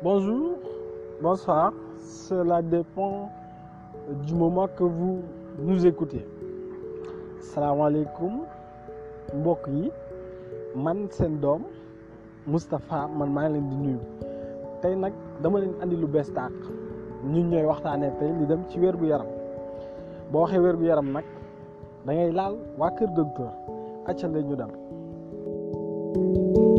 Bonjour, bonsoir, cela dépend du moment que vous nous écoutez. Salaamaaleykum mbokk yi man seen doom Moustapha man maa ngi leen di nuyu tey nag dama leen andi lu bees tàq ñun ñooy waxtaanee tey li dem ci wér gu yaram boo waxee wér gu yaram nag da ngay laal waa Kër Docteur acca la ñu dem.